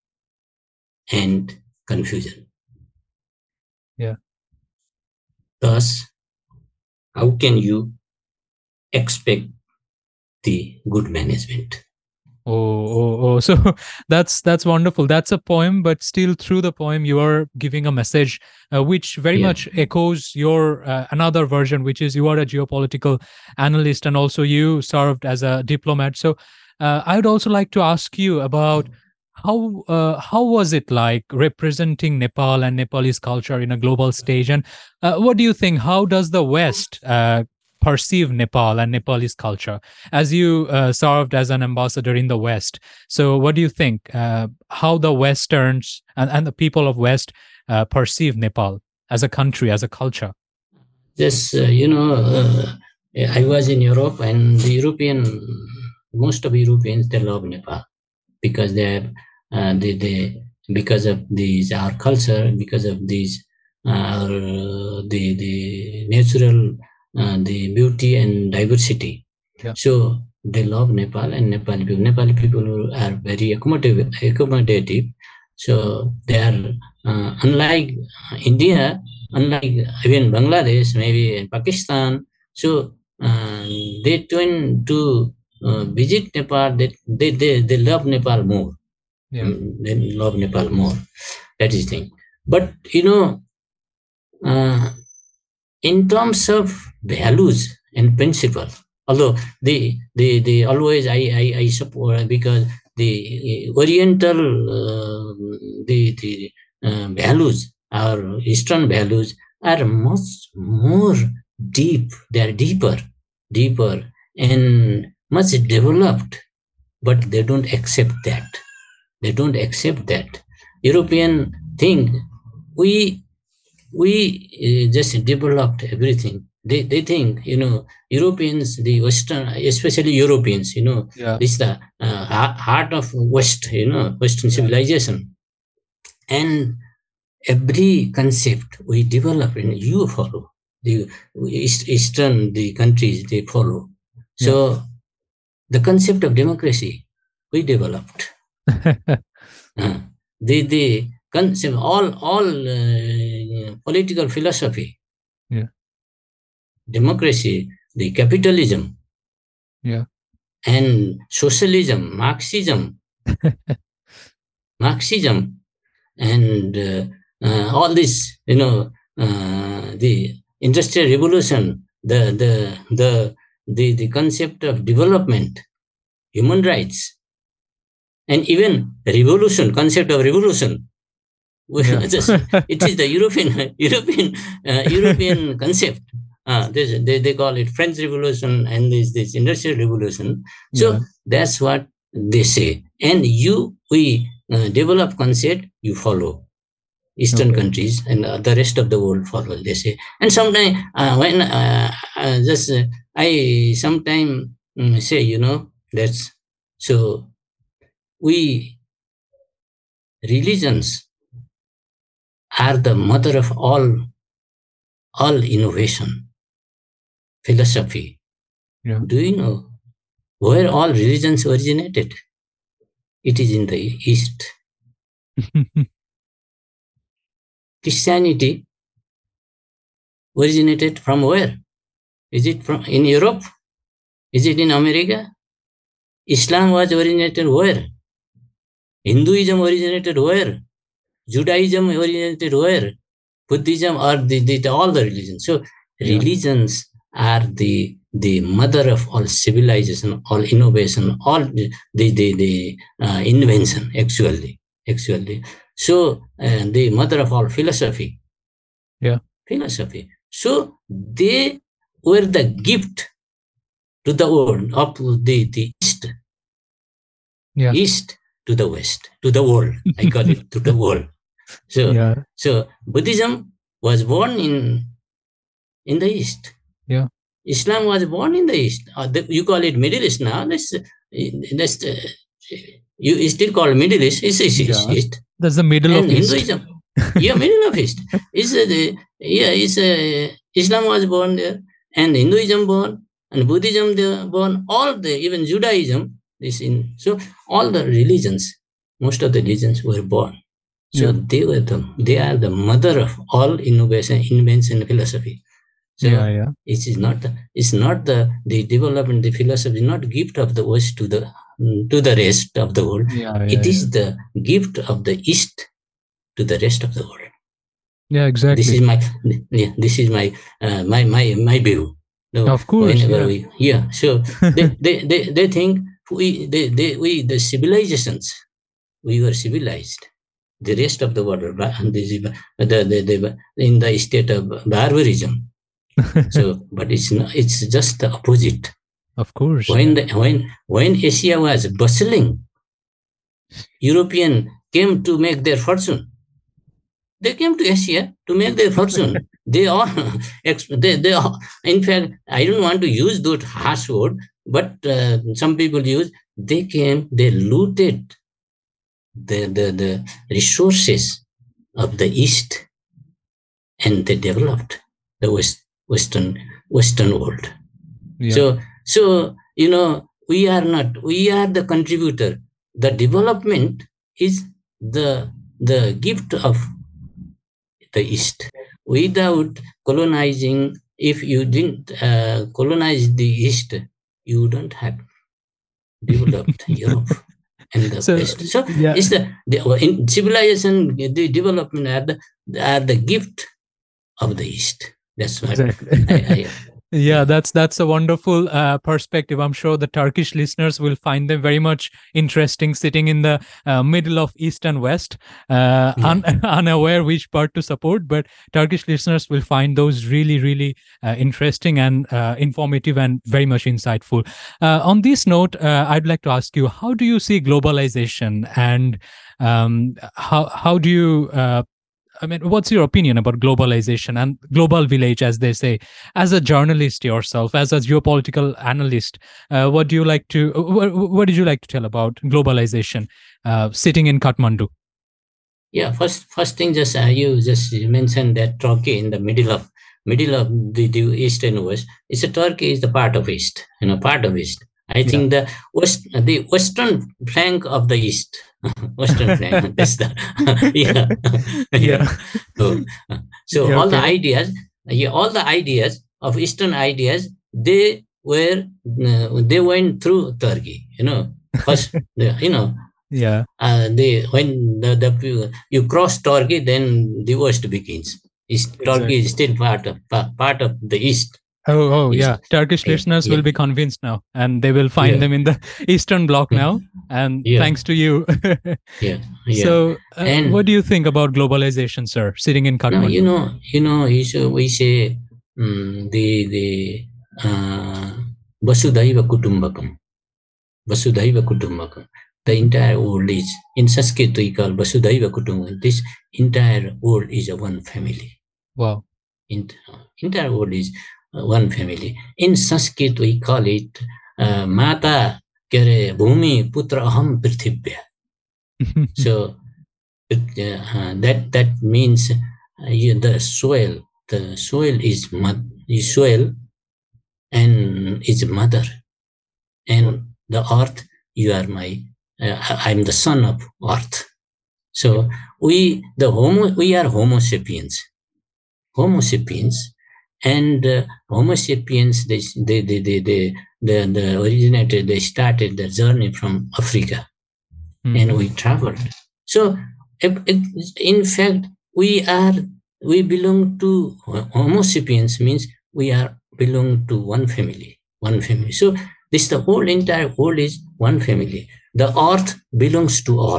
and confusion. Yeah. Thus, how can you expect the good management? Oh, oh, oh. So that's that's wonderful. That's a poem, but still through the poem, you are giving a message uh, which very yeah. much echoes your uh, another version, which is you are a geopolitical analyst and also you served as a diplomat. So uh, I would also like to ask you about how uh, how was it like representing Nepal and Nepalese culture in a global stage? And uh, what do you think? How does the West uh, perceive Nepal and Nepalese culture, as you uh, served as an ambassador in the West? So what do you think, uh, how the Westerns and, and the people of West uh, perceive Nepal as a country, as a culture? Yes, uh, you know, uh, I was in Europe, and the European, most of Europeans, they love Nepal because they have, uh, they, they, because of these, our culture, because of these, uh, the, the natural Uh, the beauty and diversity. Yeah. So they love Nepal, and Nepali people. Nepali people are very accommodative. accommodative. So they are, uh, unlike India, unlike even Bangladesh, maybe in Pakistan. So uh, they tend to uh, visit Nepal. They, they, they, they love Nepal more. Yeah. They love Nepal more. That is the thing. But, you know, uh, in terms of values and principle, although they they they always I I, I support, because the Oriental uh, the the uh, values, our Eastern values, are much more deep. They are deeper, deeper and much developed, but they don't accept that. They don't accept that European thing. We. We uh, just developed everything. they, they think, you know, Europeans, the Western, especially Europeans, you know, Yeah. this is the uh, heart of West, you know, Western Yeah. civilization. And every concept we develop and you follow. The East, Eastern, the countries, they follow. So Yeah. the concept of democracy, we developed. uh, the, the concept, all, all uh, political philosophy, Yeah. democracy, the capitalism, Yeah. and socialism, Marxism, Marxism, and uh, uh, all this, you know, uh, the industrial revolution, the, the, the, the, the concept of development, human rights, and even revolution, concept of revolution. Yeah. Just, it is the European, European, uh, European concept. Uh, this, they, they call it French Revolution and this, this Industrial Revolution. So Yeah. that's what they say. And you, we uh, develop concept, you follow. Eastern Okay. countries and uh, the rest of the world follow, they say. And sometimes uh, when uh, uh, just uh, I sometimes um, say, you know, that's so we religions are the mother of all all innovation, philosophy. Yeah. Do you know where all religions originated? It is in the East. Christianity originated from where? Is it from in Europe? Is it in America? Islam was originated where? Hinduism originated where? Judaism originated where? Buddhism or the, the, all the religions. So Yeah. religions are the the mother of all civilization, all innovation, all the the, the, the uh, invention actually. Actually. So uh, the mother of all philosophy. Yeah. Philosophy. So they were the gift to the world of the, the East. Yeah. East to the West, to the world. I call it to the world. So, Yeah. so Buddhism was born in in the East. Yeah. Islam was born in the East. Uh, the, you call it Middle East now. That's that's uh, you still call it Middle East. It's, it's, Yeah. East. That's the middle And of East. Hinduism, yeah, middle of East. Is uh, the yeah, is uh, Islam was born there, and Hinduism born, and Buddhism there born. All the even Judaism is in. So all the religions, most of the religions were born. So Yeah. they were the they are the mother of all innovation, invention, and philosophy. So Yeah. Yeah. it is not the it's not the the development, the philosophy is not gift of the West to the to the rest of the world. Yeah. It Yeah. is the gift of the East to the rest of the world. Yeah. Exactly. This is my yeah, this is my uh, my my my view. No, Of course. whenever Yeah. we yeah, so they, they, they, they think we they, they we the civilizations we were civilized. The rest of the world, the, the, the, the, in the state of barbarism. So, but it's not, it's just the opposite. Of course. When Yeah. the, when when Asia was bustling, European came to make their fortune. They came to Asia to make their fortune. They all, they, they all, in fact, I don't want to use that harsh word, but uh, some people use, they came, they looted the, the, the resources of the East, and they developed the West, Western, Western world. Yeah. So, so, you know, we are not, we are the contributor. The development is the, the gift of the East. Without colonizing, if you didn't uh, colonize the East, you don't have developed Europe and the So, West. So yeah. it's the, the in civilization, the development are the, are the gift of the East. That's what Exactly. I, I Yeah, that's that's a wonderful uh, perspective. I'm sure the Turkish listeners will find them very much interesting, sitting in the uh, middle of East and West, uh, Yeah. un- unaware which part to support. But Turkish listeners will find those really, really uh, interesting and uh, informative and very much insightful. Uh, on this note, uh, I'd like to ask you: how do you see globalization, and um, how how do you uh, I mean, what's your opinion about globalization and global village, as they say? As a journalist yourself, as a geopolitical analyst, uh, what do you like to? What, what did you like to tell about globalization, uh, sitting in Kathmandu? Yeah, first first thing, just uh, you just mentioned that Turkey in the middle of middle of the, the east and west. It's a Turkey is the part of east, you know, part of east. I Yeah. think the west, the western flank of the east, western flank. That's the yeah, Yeah. So, so Yeah, all the okay. ideas, yeah, all the ideas of eastern ideas, they were uh, they went through Turkey. You know, first, the- you know, Yeah. uh, they when the, the you cross Turkey, then the west begins. Is Turkey Exactly. is still part of pa- part of the east. Oh, oh, East. yeah. Turkish Yeah, listeners yeah, will be convinced now, and they will find yeah, them in the Eastern Bloc now. And yeah, thanks to you. yeah, yeah. So, uh, And what do you think about globalization, sir? Sitting in no, you Kathmandu. know, you know, you should, we say um, the the uh, Vasudhaiva Kutumbakam. Vasudhaiva Kutumbakam. The Mhm. entire world is in Sanskrit we call Vasudhaiva Kutumbakam. This entire world is a one family. Wow. In, entire world is uh, one family. In Sanskrit we call it uh, Mata Kare Bhumi Putra Aham Prithibhya. So uh, that that means uh, you, the soil, the soil is mother, is soil and is mother, and the earth. You are my. Uh, I'm the son of earth. So we the homo we are Homo sapiens. Homo sapiens, and uh, Homo sapiens they they they they, they the, the originated they started the journey from Africa, Mhm. and we traveled. So if, if, in fact we are we belong to Homo sapiens means we are belong to one family, one family. So this the whole entire world is one family. The earth belongs to all,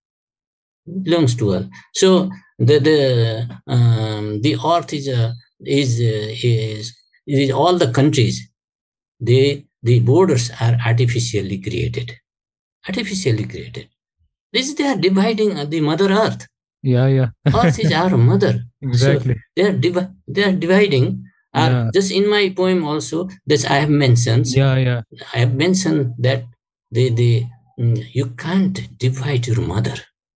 belongs to all. So the the um, the earth is a is uh, is is all the countries. They the borders are artificially created, artificially created. This they are dividing the Mother Earth. Yeah, yeah. Earth is our mother. So Exactly. they are divi- they are dividing. Are Yeah. just in my poem also. This I have mentioned. Yeah, yeah. I have mentioned that they they mm, you can't divide your mother.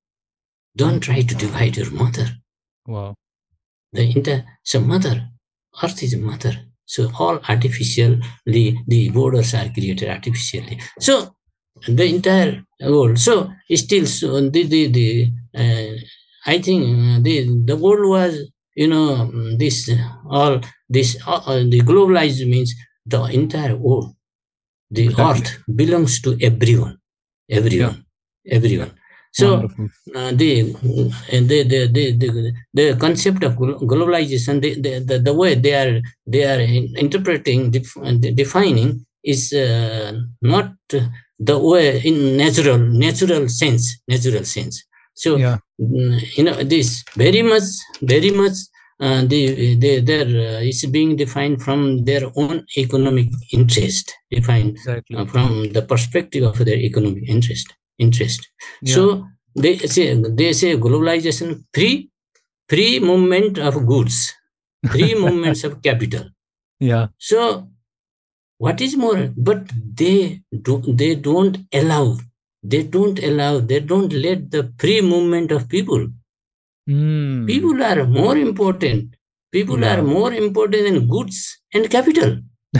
Don't try to divide your mother. Wow. The inter so mother, earth is mother. So all artificially the borders are created artificially. So the entire world. So still so the the, the uh, I think uh, the the world was you know this uh, all this uh, uh, the globalized means the entire world. The Exactly. earth belongs to everyone, Yeah. everyone, everyone. So Wonderful. uh, the, and the, the, the, the, the concept of globalization, the, the, the, the way they are they are interpreting, def, defining is uh, not the way in natural natural sense, natural sense. So Yeah. you know this very much, very much. Uh, they, they, they're, uh, it's being defined from their own economic interest, defined Exactly. uh, from the perspective of their economic interest. Interest. Yeah. So they say they say globalization, free, free movement of goods, free movements of capital. Yeah. So what is more? But they do they don't allow, they don't allow, they don't let the free movement of people. Mm. People are more important. People Yeah. are more important than goods and capital.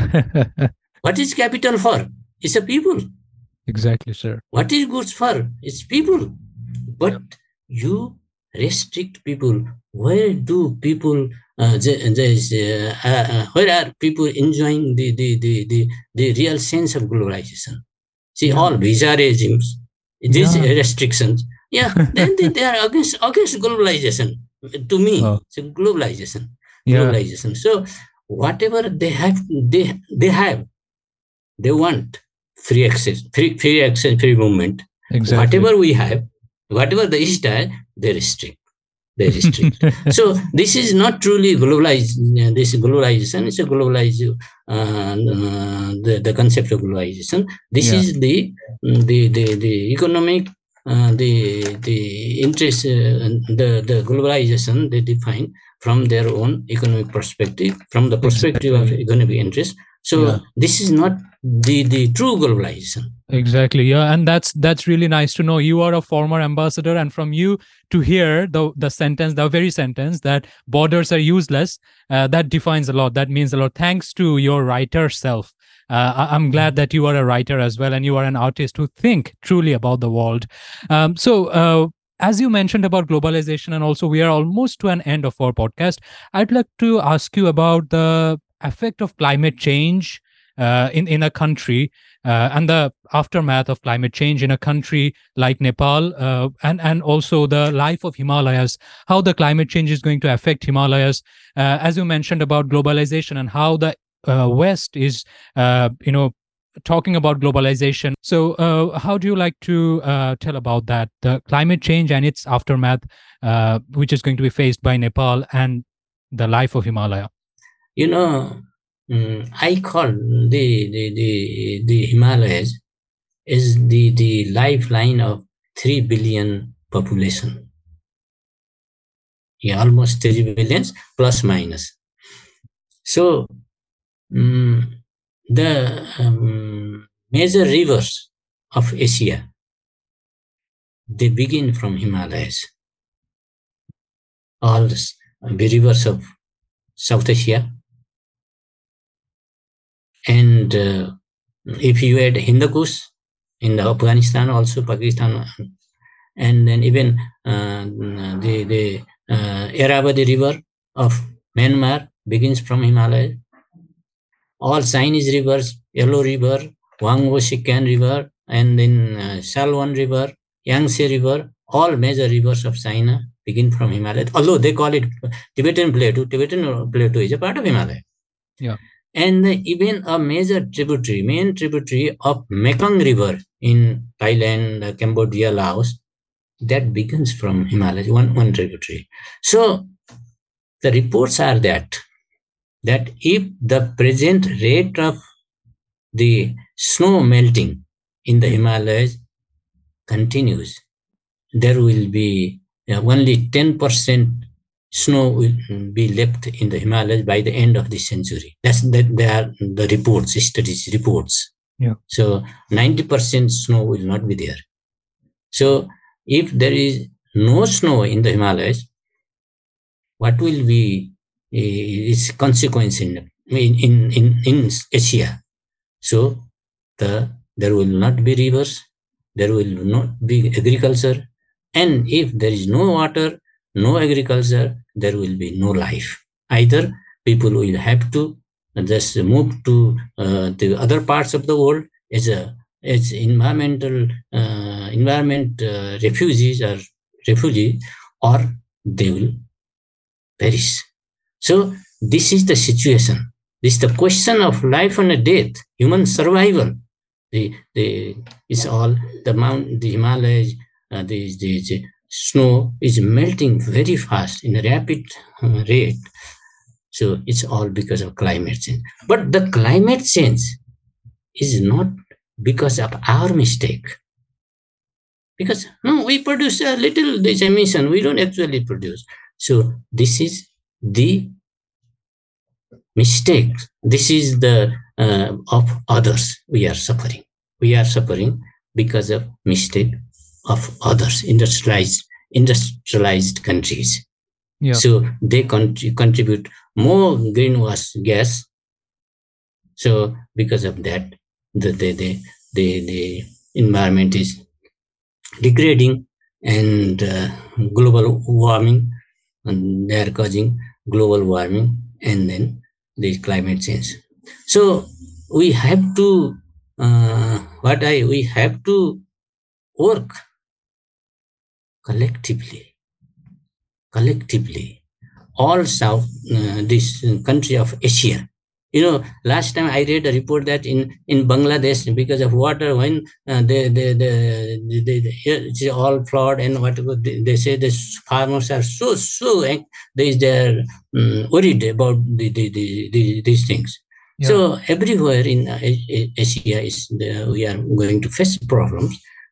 What is capital for? It's a people. Exactly, sir. What is goods for? It's people. But Yep. you restrict people. Where do people? Uh, uh, uh, where are people enjoying the the, the, the the real sense of globalization? See, Yeah. all visa regimes, these Yeah. restrictions. Yeah, then they, they are against against globalization. To me, Oh. it's globalization. Yeah. Globalization. So whatever they have, they they have, they want free access, free free access, free movement. Exactly. Whatever we have, whatever the East has, they restrict. They restrict. So this is not truly globalized. This globalization is a globalized uh, uh, the, the concept of globalization. This Yeah. is the the, the the economic uh, the the interest, uh, the the globalization they define from their own economic perspective, from the perspective exactly. of economic interest. So yeah. This is not the the true globalization. Exactly. Yeah, and that's that's really nice to know. You are a former ambassador, and from you to hear the the sentence, the very sentence that borders are useless, uh, that defines a lot. That means a lot. Thanks to your writer self. Uh, I, I'm glad that you are a writer as well, and you are an artist who think truly about the world. Um, so. Uh, as you mentioned about globalization, and also we are almost to an end of our podcast, I'd like to ask you about the effect of climate change uh, in in a country. Uh, and the aftermath of climate change in a country like Nepal, uh, and and also the life of Himalayas, how the climate change is going to affect Himalayas, uh, as you mentioned about globalization and how the uh, West is, uh, you know, talking about globalization. So, uh, how do you like to uh, tell about that, the climate change and its aftermath, uh, which is going to be faced by Nepal and the life of Himalaya? You know. Mm, I call the, the the the Himalayas is the the lifeline of three billion population. Yeah, almost three billions plus minus. So um, the um, major rivers of Asia, they begin from Himalayas. All the rivers of South Asia. And uh, if you add Hindu Kush in the Afghanistan, also Pakistan, and then even uh, the the uh, Irrawaddy River of Myanmar begins from Himalaya. All Chinese rivers, Yellow River, Huangho Sikan River, and then uh, Salween River, Yangtze River, all major rivers of China begin from Himalaya. Although they call it Tibetan Plateau, Tibetan Plateau is a part of Himalaya. Yeah. And even a major tributary, main tributary of Mekong River in Thailand, Cambodia, Laos, that begins from Himalayas, one, one tributary. So the reports are that, that if the present rate of the snow melting in the Himalayas continues, there will be uh, only ten percent snow will be left in the Himalayas by the end of this century. That's that they are the reports, studies reports. Yeah. So ninety percent snow will not be there. So if there is no snow in the Himalayas, what will be uh, its consequence in, in, in, in Asia? So the there will not be rivers, there will not be agriculture, and if there is no water, no agriculture, there will be no life. Either people will have to just move to uh, the other parts of the world as a as environmental uh, environment uh, refugees or refugees, or they will perish. So this is the situation. This is the question of life and death, human survival. The the it's all the mount, the Himalayas, uh, the, the the snow is melting very fast in a rapid uh, rate. So it's all because of climate change. But the climate change is not because of our mistake. Because no, we produce a little this emission, we don't actually produce. So this is the mistake. This is the uh, of others we are suffering. We are suffering because of mistake of others, industrialized industrialized countries. Yeah. So they con- contribute more greenhouse gas. So because of that, the the the the, the environment is degrading, and uh, global warming, and they are causing global warming, and then the climate change. So we have to uh, what I we have to work collectively, collectively. All South uh, this country of Asia. You know, last time I read a report that in, in Bangladesh, because of water, when uh, they, they, they, they, they, it's all flood, and what they, they say the farmers are so, so, they, they're um, worried about the, the, the, the, these things. Yeah. So everywhere in uh, Asia, is the, we are going to face problems.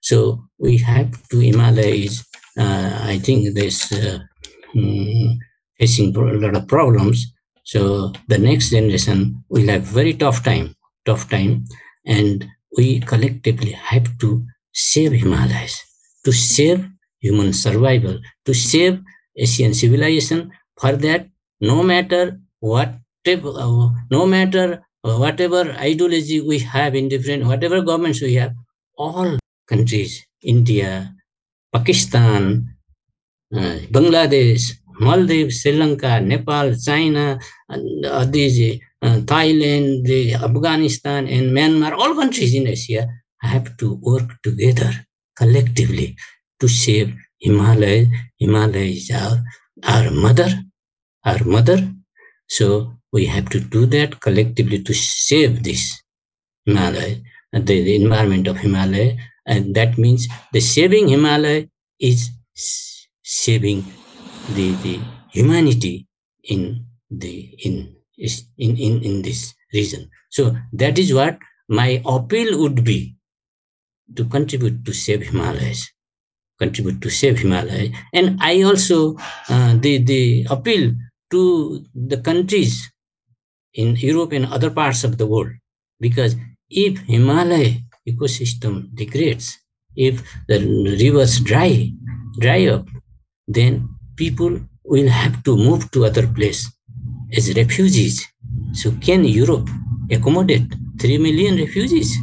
So we have to, Himalaya is, uh, I think this uh, um, facing a lot of problems. So the next generation will have very tough time, tough time, and we collectively have to save Himalayas, to save human survival, to save Asian civilization. For that, no matter what, uh, no matter whatever ideology we have in different, whatever governments we have, all countries, India, Pakistan, uh, Bangladesh, Maldives, Sri Lanka, Nepal, China, and, uh, these, uh, Thailand, the Afghanistan, and Myanmar, all countries in Asia have to work together collectively to save Himalaya. Himalaya is our, our mother, our mother. So we have to do that collectively to save this Himalaya, the, the environment of Himalaya. And that means the saving Himalaya is saving the, the humanity in the in, in in in this region. So that is what my appeal would be, to contribute to save Himalayas, contribute to save Himalaya. And I also uh, the the appeal to the countries in Europe and other parts of the world, because if Himalaya ecosystem degrades, if the rivers dry dry up, then people will have to move to other place as refugees. So can Europe accommodate three million refugees?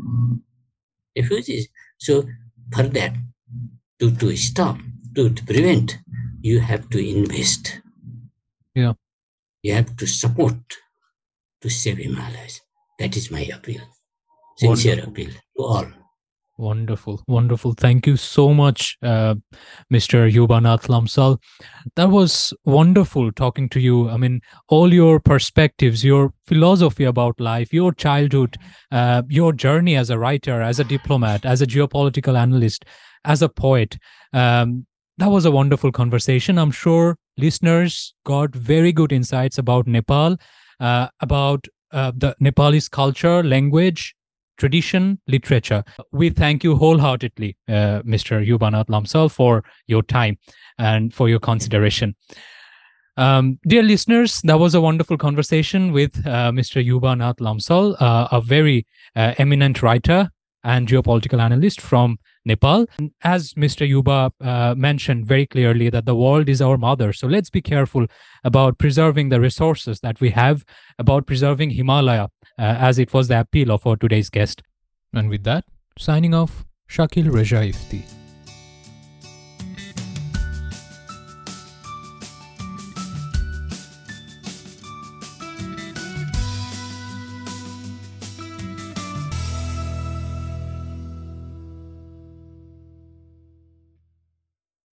Refugees. So for that, to, to stop, to, to prevent, you have to invest. Yeah. You have to support to save Himalayas. That is my appeal. Sincere Wonderful. appeal to all. Wonderful, wonderful. Thank you so much, uh, Mister Yubanath Lamsal. That was wonderful talking to you. I mean, all your perspectives, your philosophy about life, your childhood, uh, your journey as a writer, as a diplomat, as a geopolitical analyst, as a poet. Um, that was a wonderful conversation. I'm sure listeners got very good insights about Nepal, uh, about uh, the Nepalese culture, language, tradition, literature. We thank you wholeheartedly, uh, Mister Yubanath Lamsal, for your time and for your consideration. Um, dear listeners, that was a wonderful conversation with uh, Mister Yubanath Lamsal, uh, a very uh, eminent writer and geopolitical analyst from Nepal. As Mister Yuba uh, mentioned very clearly, that the world is our mother. So let's be careful about preserving the resources that we have, about preserving Himalaya, uh, as it was the appeal of our today's guest. And with that, signing off, Shakil Reja Ifti.